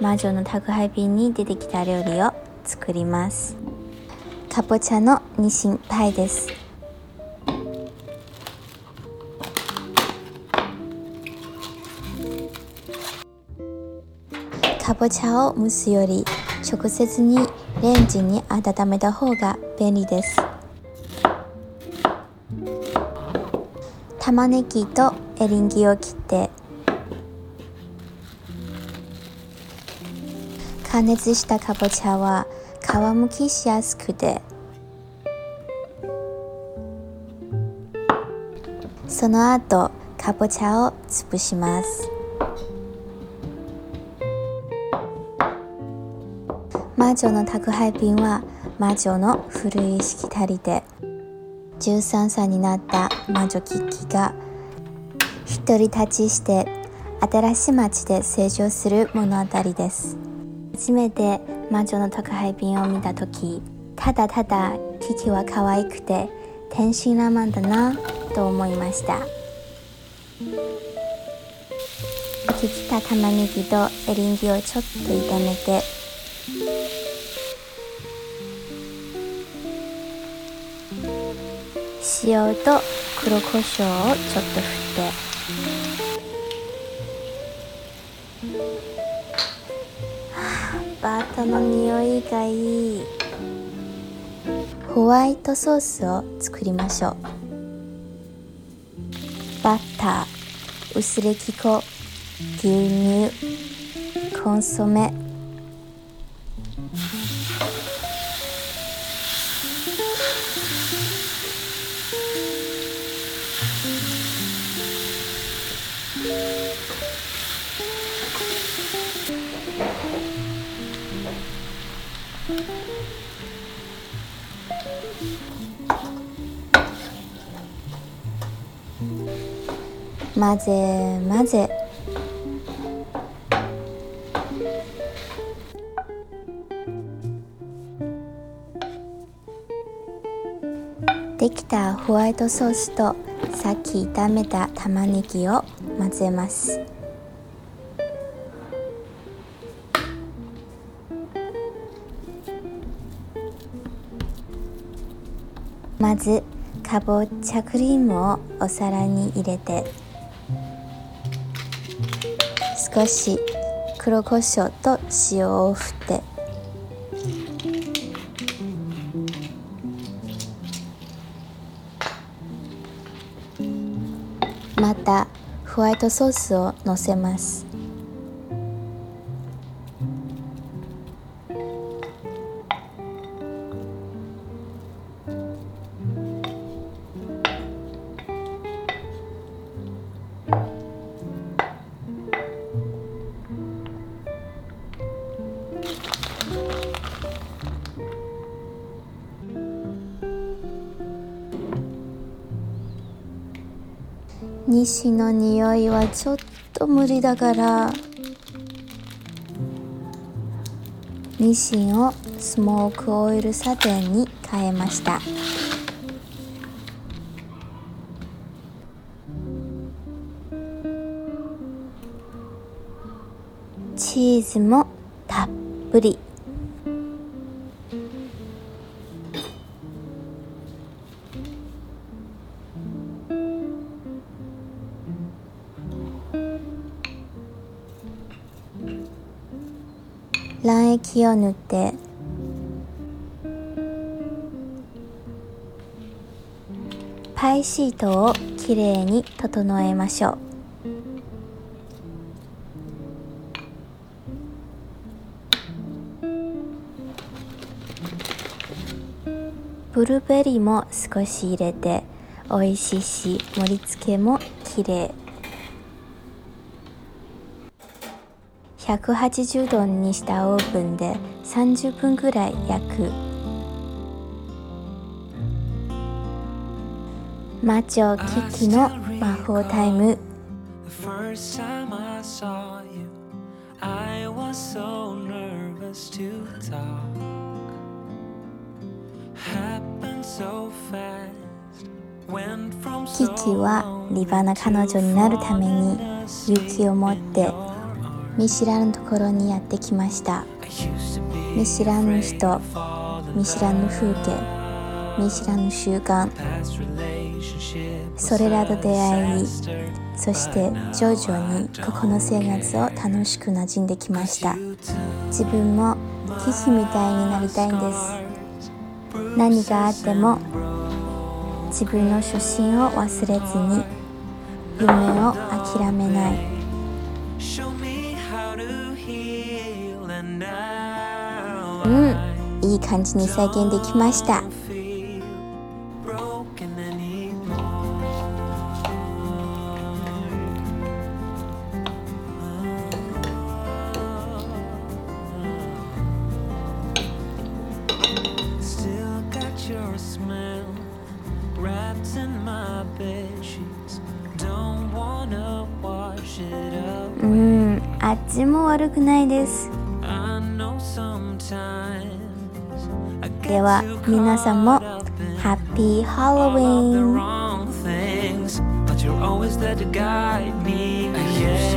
魔女の宅配便に出てきた料理を作ります。かぼちゃのニシンパイです。かぼちゃを蒸すより直接にレンジに温めた方が便利です。玉ねぎとエリンギを切って加熱したかぼちゃは皮むきしやすくて、その後かぼちゃを潰します。魔女の宅配便は魔女の古いしきたりで、13歳になった魔女キキが独り立ちして新しい街で成長する物語です。初めて魔女の宅配便を見たとき、ただただキキは可愛くて天真爛漫だなと思いました。切った玉ねぎとエリンギをちょっと炒めて、塩と黒胡椒をちょっと振って、バターの匂いがいい。ホワイトソースを作りましょう。バター、薄力粉、牛乳、コンソメ、混ぜ混ぜ、できたホワイトソースとさっき炒めた玉ねぎを混ぜます。まずかぼちゃクリームをお皿に入れて、少し黒胡椒と塩を振って、またホワイトソースをのせます。ニシンの匂いはちょっと無理だから、ニシンをスモークオイルサテンに変えました。チーズもたっぷり。卵液を塗ってパイシートをきれいに整えましょう。ブルーベリーも少し入れて美味しいし、盛り付けもきれい。180度にしたオーブンで30分ぐらい焼く。魔女キキの魔法タイム。キキは立派な彼女になるために勇気を持って見知らぬところにやってきました。見知らぬ人、見知らぬ風景、見知らぬ習慣、それらと出会い、そして徐々にここの生活を楽しく馴染んできました。自分もキキみたいになりたいんです。何があっても自分の初心を忘れずに、夢を諦めない。いい感じに再現できました。味も悪くないです。では皆さんもハッピーハロウィーン。